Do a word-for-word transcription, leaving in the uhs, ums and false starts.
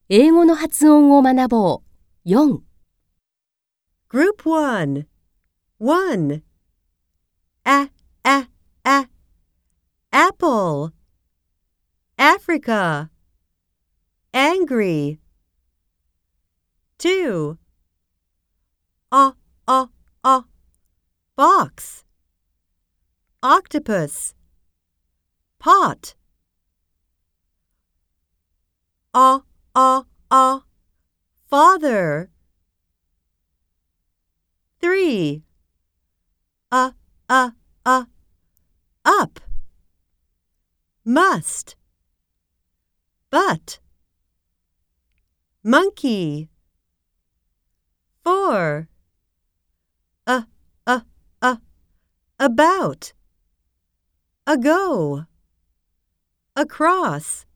英語の発音を学ぼう。よん。 Group one. one. A, a, a. Apple. Africa. Angry. two. A, a, a. Box. Octopus. Pot. A, a, a. Father. three. A, a, a. Up. Must. But. Monkey. four. A, a, a. About. Ago. Across.